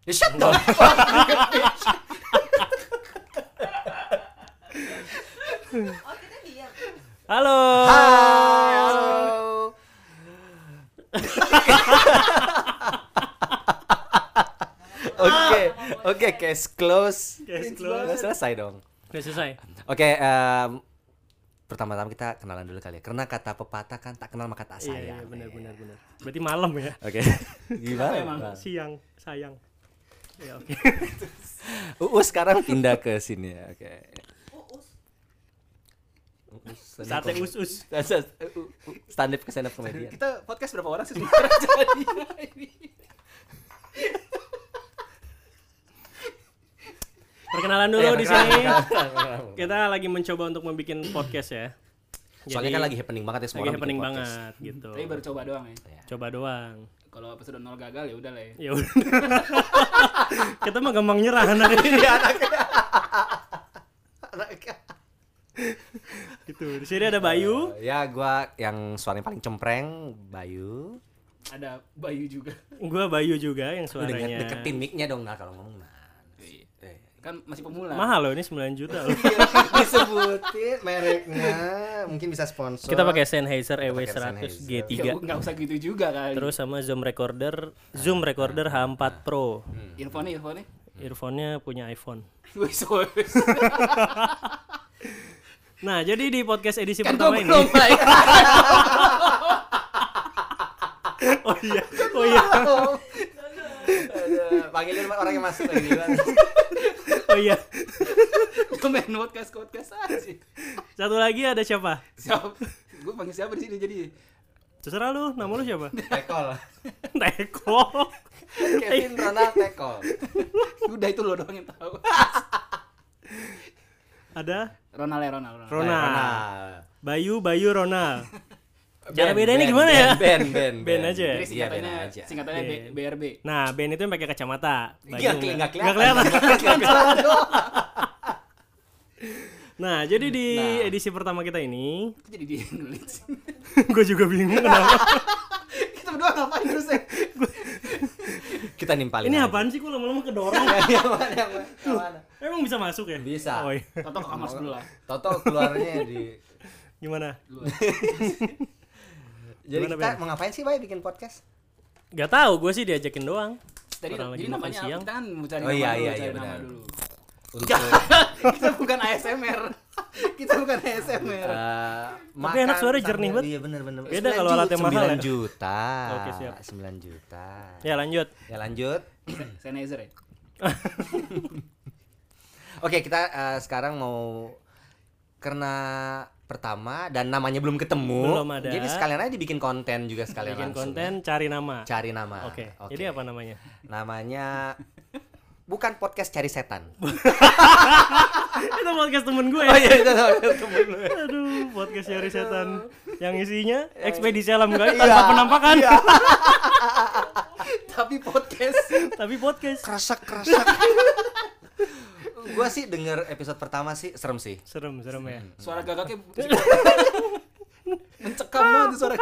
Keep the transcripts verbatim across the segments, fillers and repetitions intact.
Ya shut dong. Oh, kita diam. Halo. Hai, halo. Oke, oke, case close. Case close. Udah selesai dong. Udah selesai. Oke, em, pertama-tama kita kenalan dulu kali ya. Karena kata pepatah kan tak kenal maka tak Iya, sayang. iya benar benar benar. Berarti malam ya. Oke. Gimana emang? Siang, sayang. Ya oke. Uus sekarang pindah ke sini ya. Oke. Uus. Sate us-us. Stand up ke stand up komedian. Kita podcast berapa orang sih sebenarnya jadi ini? Perkenalan dulu di sini. Kita lagi mencoba untuk membuat podcast ya. Soalnya kan lagi happening banget ya semua lagi orang happening bikin podcast. banget gitu. Tapi baru coba doang ya. Coba doang. Kalau episode nol gagal ya udah lah ya. Ya udah. Kita mah gampang nyerah anaknya. Gitu. Di sini ada Bayu. Uh, ya gua yang suaranya paling cempreng, Bayu. Ada Bayu juga. Gua Bayu juga yang Lu suaranya. deket- deketin mic-nya dong nah kalau ngomong nah. Kan masih pemula. Mahal loh ini sembilan juta loh. Disebutin mereknya, mungkin bisa sponsor. Kita pakai Sennheiser E W pakai seratus G Sennheiser. tiga. Enggak usah gitu juga kali. Terus sama Zoom recorder, Zoom recorder H empat Pro. earphone earphone Earphone-nya punya iPhone. wis wis. Nah, jadi di podcast edisi Kan pertama gua ini. belum baik. Oh iya. Oh iya. Aduh, panggilin orang yang masuk lagi gimana? Oh iya. Gua main podcast podcast aja. Satu lagi ada siapa? Siapa? Gua panggil siapa di sini jadi? Terserah lu, nama lu siapa? Tekol. Teko. Kevin Ronald Tekol. Udah itu lo doang yang tahu. Ada Ronald ya Ronald. Ronald. Ronald. Bayu, Bayu, Ronald. Cara Ben, beda ini Ben, gimana Ben, ya? Ben, Ben, Ben aja ya? Jadi Iya, Ben singkatannya aja. singkatannya B- Ben. BRB. Nah, Ben itu yang pakai kacamata. Bayu Iya, nggak- nggak nggak kelihatan. kelihatan. Nah, jadi di Nah. edisi pertama kita ini, Kok jadi dia yang nulis? gue juga bingung kenapa. Kita berdua ngapain terus ya? Kita nimpalin. Ini aja. apaan sih? Kok lama-lama kedorong? Yang mana, yang mana, yang mana? Emang bisa masuk ya? Bisa. Oh, iya. Toto ke kamar sebelah. Toto keluarnya di. Gimana? Dulu. Jadi Gimana, kita Ben? mau ngapain sih, Bay, bikin podcast? Gak tahu, gue sih diajakin doang. Tadi Orang lagi jadi makan namanya apa? siang. Kita kan mau cari Oh, nama iya, dulu, iya, cari iya, nama benar. dulu. Untuk Kita bukan A S M R. Kita bukan A S M R. eh, Tapi enak suara jernih banget. Iya benar benar. Beda kalau alatnya mahal ya. sembilan juta. Oke, siap. sembilan juta. Ya lanjut. Ya lanjut. Sennheiser ya? Oke, kita eh, sekarang mau karena pertama dan namanya belum ketemu. Belum ada. Jadi sekalian aja dibikin konten juga sekalian Bikin langsung. konten, cari nama. Cari nama. Oke. Jadi apa namanya? Namanya bukan podcast cari setan. Itu podcast temen gue. Oh iya, itu temen lu. Aduh, podcast cari setan. Yang isinya ekspedisi alam gaib Iya. tanpa penampakan. Tapi podcast. Tapi podcast. Kerasak kerasak. Gua sih denger episode pertama sih serem sih. Serem, serem ya. Suara gagaknya mencekam banget suara.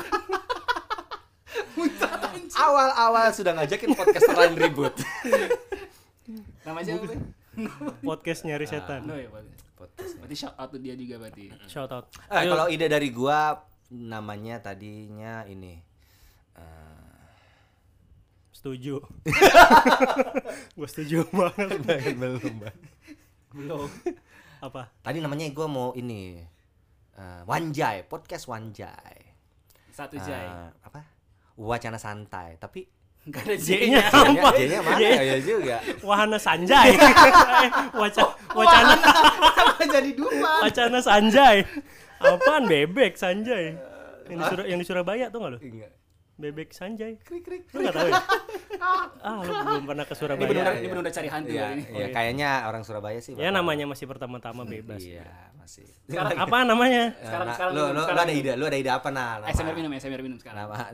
Awal-awal sudah ngajakin podcaster lain ribut. Namanya apa? Podcast nyari setan. No ya, podcast. Podcast. Berarti shout out to dia juga berarti. Shout out. Eh, Ayo. kalau ide dari gua namanya tadinya ini. eh, Setuju. Gue setuju banget. belum, Bang. Belum. Apa? Tadi namanya gua mau ini eh, Wanjai, podcast Wanjai. Satu Eh, jai. apa? Wacana santai, tapi Enggak ada J-nya J-nya. apa? J-nya mana J- ya juga. Wahana Sanjay. Eh, Waca- wacana Kenapa jadi dua? wacana Sanjay. Apaan bebek Sanjay? Yang di, Sur- yang di Surabaya tuh nggak lu? Enggak. Bebek Sanjay. Krik krik. Lu nggak tahu ya? Ah, lu belum pernah ke Ini Surabaya. benar Iya, ini iya. benar cari hantu Iya, kali ini. iya, kayaknya orang Surabaya sih. Ya bakal- namanya masih pertama-tama bebas. Iya, masih. Sekarang apa namanya? Sekarang- Nah, sekarang lu, minum, lu, sekarang lu ada minum. ide, lu ada ide apa nah? A S M R minum, A S M R minum sekarang. Nama.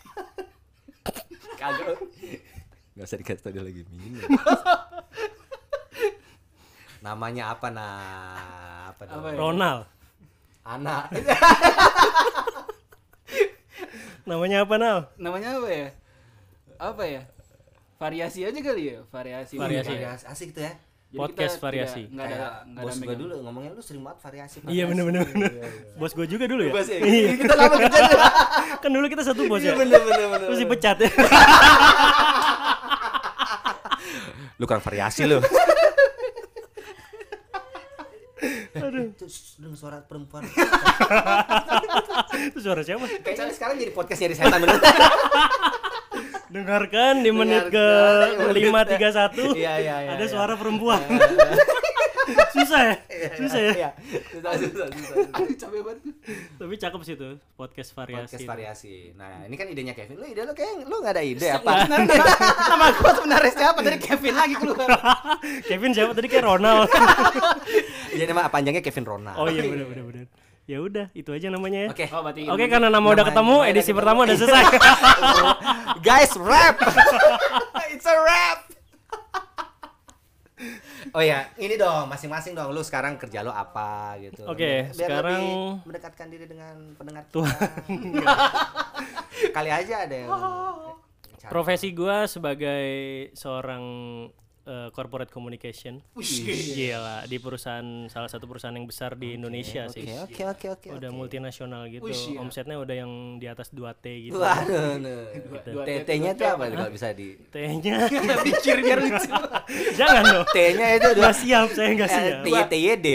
Kagak. Gak usah dikasih tau dia lagi minum. Namanya apa nah? Apa dong? Apa ya? Ronald. Anak. Namanya apa, Nal? Namanya apa ya? Apa ya? variasi aja kali ya, variasi. Variasi. Variasi. Asik tuh ya. Jadi Podcast kita variasi. tidak- nggak ada Kayak nggak ada bos gue megang. dulu ngomongnya lu sering banget variasi. Iya variasi. bener-bener. Iya, iya. Bos gue juga dulu ya. Bos ya? Iya. Kita lama kerja dulu. Kan dulu kita satu bos ya. Iya bener bener bener. Terus dipecat ya. Lu kurang variasi lu. Aduh. Itu dengan suara perempuan. Itu suara siapa? Kayaknya sekarang jadi podcast nyari setan bener. Dengarkan di menit ke Dengarkan di lima menit- tiga satu. Iya iya iya. Ada iya. suara perempuan. Susah ya? Susah ya? Iya. Susah susah susah. Aduh capek banget. Tapi cakep sih tuh podcast variasi. Podcast itu. variasi. Nah, ini kan idenya Kevin. Lu ide lu kayak lu enggak ada ide apa? Nama gua sebenarnya siapa? Dari Kevin lagi keluar. Kevin siapa tadi kayak Ronald. Iya nama panjangnya Kevin Ronald. Oh iya benar benar benar. Ya udah, itu aja namanya ya. Oke. Oh, berarti Oke, karena nama udah Namanya- ketemu, namanya edisi udah pertama ketemu. udah selesai. Guys, rap. It's a rap. Oh ya, ini dong masing-masing dong. Lu sekarang kerja lu apa gitu. Oke, Biar sekarang- lebih mendekatkan diri dengan pendengar kita. Tuhan. Kali aja ada yang Profesi gua sebagai seorang eh, corporate communication. Gila, di perusahaan salah satu perusahaan yang besar di Indonesia sih. Oke, oke, oke, oke. Udah multinasional gitu. Wih, iya. Omsetnya udah yang di atas dua T gitu. Waduh, Dua- T- dua- T-nya tuh dua- apa kalau bisa di T-nya Pikir biar lucu. jangan dong. T-nya itu udah Nggak siap, saya nggak siap. T Y T Y D.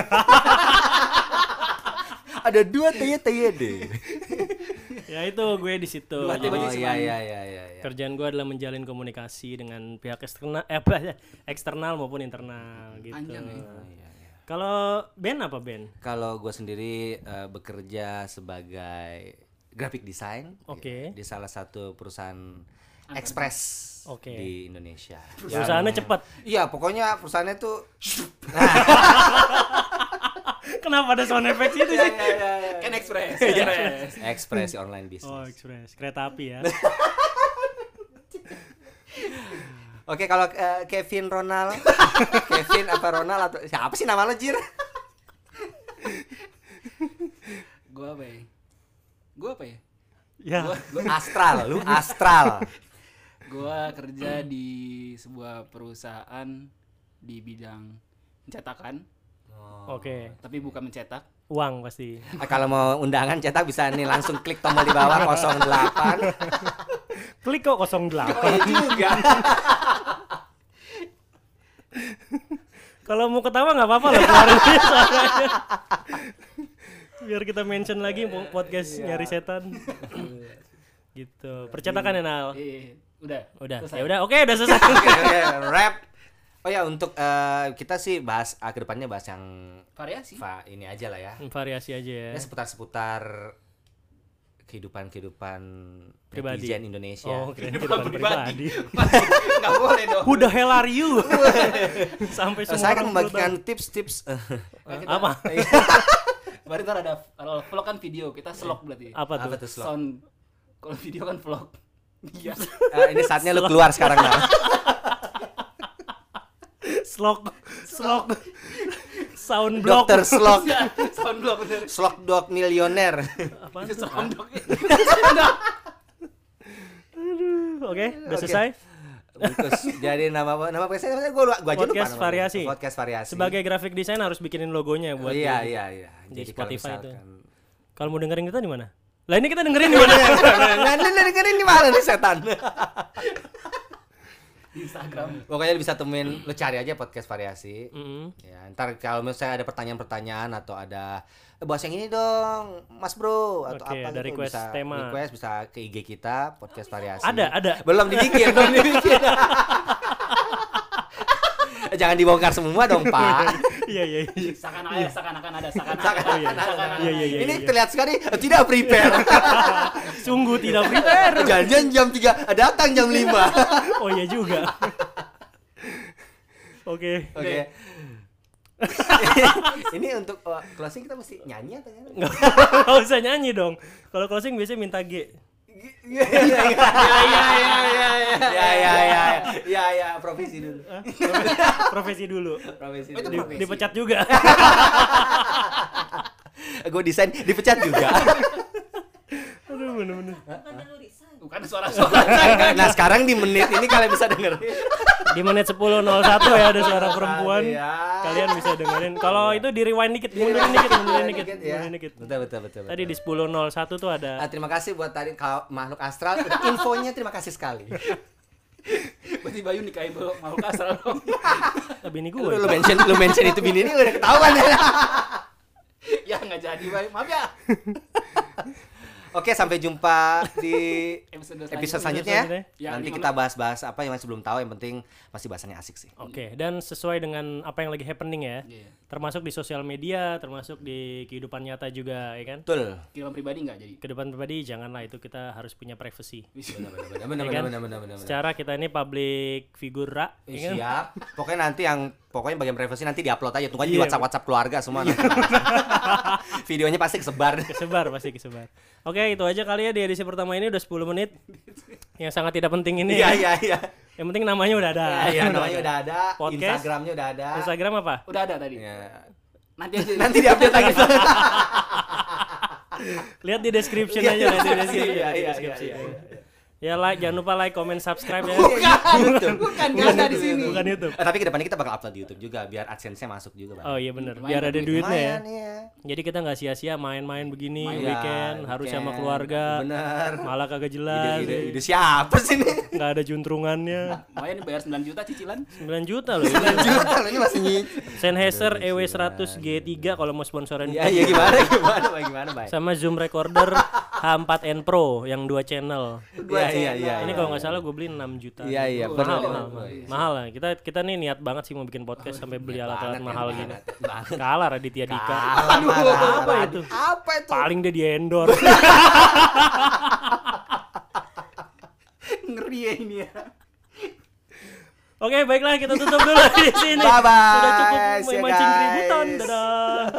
Ada dua T Y T Y D. Ya itu gue di situ. Dua T Jadi, berarti Oh iya iya iya iya. iya. kerjaan gue adalah menjalin komunikasi dengan pihak eksternal, eh, apa ya, eksternal maupun internal gitu. Panjang ya. Oh, iya, iya. Kalau Ben apa Ben? Kalau gue sendiri eh, bekerja sebagai graphic design Oke. di salah satu perusahaan ekspres Oke. di Indonesia. Perusahaannya cepat. Iya, pokoknya perusahaannya tuh Kenapa ada sound effect itu sih? Kan Express. Iya. Express. ekspresi online business. Oh, ekspres, kereta api ya. Oke, kalau eh, Kevin Ronald, Kevin apa Ronald atau siapa sih nama lo, Jir? Gua apa ya? Gua apa ya? Ya. Lu astral, lu astral. Gua kerja di sebuah perusahaan di bidang pencetakan, Oke. tapi bukan mencetak. Uang pasti. Ah, kalau mau undangan cetak bisa nih langsung klik tombol di bawah nol delapan. Klik kok nol delapan. Oh iya juga. Kalau mau ketawa nggak apa-apa loh keluarin aja suaranya. Biar kita mention lagi po- podcast nyari setan. Gitu. Percetakan ya Nal. Eh, udah. Udah. Selesai. Ya udah, oke udah selesai. Oke, oke, rap. Oh ya untuk eh, kita sih bahas ah, ke depannya bahas yang Variasi. fa ini aja lah ya. Variasi aja ya. Ya seputar-seputar kehidupan-kehidupan Pribadi. netizen Indonesia. Oh, keren kehidupan pribadi. Enggak boleh dong. Who the hell are you? Sampai Eh, semua saya kan orang membagikan perlu tips-tips. eh, Nah, kita- Apa? Berarti ntar ada kalau vlog kan video, kita vlog berarti. tahu. Apa tuh? apa tuh slot? Sound kalau video kan vlog. Iya. Eh, ini saatnya lu keluar sekarang nah. Slok, slok, sound block. Dokter Slok, Sound vlog bener. Slok Dog milioner. Apa? Itu sound vlog. Oke, udah Oke. selesai. Bungkus. Jadi nama nama podcastnya gua gua aja lupa Podcast namanya. variasi. Podcast variasi. Sebagai graphic design harus bikinin logonya buat iya di- iya iya. di Jadi kalau Spotify itu. misalkan Kalau mau dengerin kita di mana? Lah ini kita dengerin di mana? Nah, lu dengerin di mana nih setan? Di Instagram. Pokoknya lu bisa temuin, lu cari aja podcast variasi. Mm-mm. Ya, ntar kalau misalnya ada pertanyaan-pertanyaan atau ada eh, bahas yang ini dong, Mas Bro atau Oke, apa ada gitu request bisa tema. request bisa ke I G kita podcast variasi. Ada, ada. Belum dibikin, belum dibikin. Jangan dibongkar semua dong, Pak. Iya, iya, iya. Seakan ada, seakan-akan ada, seakan-akan Seakan-akan ada, ada. seakan-akan Iya, iya, ada. iya. Ini terlihat sekali eh, tidak prepare. Sungguh tidak prepare. Jangan jam tiga, datang jam lima. Oh iya juga. Oke. Oke. Ini untuk uh, closing kita mesti nyanyi atau gimana? Nggak usah nyanyi dong. Kalau closing biasanya minta G. Iya iya iya iya iya iya iya iya iya profesi dulu. Hah? Profesi dulu. Profesi Oh, itu dulu. Di- profesi. dipecat juga. Gue desain dipecat juga. Aduh bener-bener. Bukan lu resign. Bukan suara-suara. Nah, sekarang di menit ini kalian bisa dengerin. Di menit sepuluh nol satu ya ada suara perempuan. Iya. Kalian bisa dengerin. Kalau itu di rewind dikit, mundurin dikit, mundurin dikit, Dikit, ya. mundurin dikit. Betul betul betul. Tadi di sepuluh nol satu tuh ada Ah, terima kasih buat tadi kau- makhluk astral. Udah infonya terima kasih sekali. Berarti Bayu nikahin makhluk astral dong. bini Lu, gue. lu mention lu mention itu bini ini udah ketahuan ya. Ya nggak jadi Bayu, maaf ya. Oke, sampai jumpa di Episode episode selanjutnya. selanjutnya. Ya, Nanti gimana? kita bahas-bahas apa yang masih belum tahu, yang penting masih bahasannya asik sih. Oke, dan sesuai dengan apa yang lagi happening ya. Iya. Termasuk di sosial media, termasuk di kehidupan nyata juga, ya kan? Betul. Kehidupan pribadi nggak jadi. Kehidupan pribadi janganlah, itu kita harus punya privacy. Benar benar benar Ya kan? benar benar benar. Secara kita ini public figura, ya kan? Siap. Pokoknya nanti yang pokoknya bagian privasi nanti diupload aja. Tunggu aja di Iya. WhatsApp WhatsApp keluarga semua. nanti. Videonya pasti kesebar. Kesebar pasti kesebar. Oke, itu aja kali ya di edisi pertama ini udah sepuluh menit. Yang sangat tidak penting ini. Iya ya. iya iya. Yang penting namanya udah ada. Iya, iya, namanya udah ada, Podcast. Instagramnya udah ada. Instagram apa? Udah ada tadi. Ya. Nanti aja. Nanti diupdate lagi. Lihat di description Iya, aja nanti di description. iya, di iya, description. iya, iya. Ya like, jangan lupa like, comment, subscribe ya. Bukan, Bukan, nggak ada di sini. Bukan YouTube. Eh, tapi kedepannya kita bakal upload di YouTube juga biar AdSense-nya masuk juga, Bang. Oh iya benar, Lumayan biar ada duit. duitnya ya. Lumayan, iya. Jadi kita nggak sia-sia main-main begini Main. weekend, Iya, harus weekend. sama keluarga. Bener. Malah kagak jelas. Ide, ide, ide siapa sih ini? Nggak ada juntrungannya. Lumayan bayar sembilan juta cicilan. sembilan juta loh. Ini. Juta loh, ini masih nyicil. Sennheiser E W seratus G tiga kalau mau sponsorin. Iya, iya gimana gimana Bang, gimana, Bang? Sama Zoom recorder H empat N Pro yang dua channel. Iya, iya, iya. Ini kalau nggak salah gue beli enam juta. Iya, iya, mahal, benar, mahal, benar. mahal. Mahal lah. Kita kita nih niat banget sih mau bikin podcast sampai beli alat-alat banget, mahal niat gini. banget, niat banget. Kalah Raditya Dika. Kalah, Aduh, kalah, apa kalah. itu? Apa itu? Paling dia di endorse. Ngeri ya ini ya. Oke, baiklah kita tutup dulu di sini. Bye-bye. Sudah cukup See you, memancing guys. keributan. Dadah.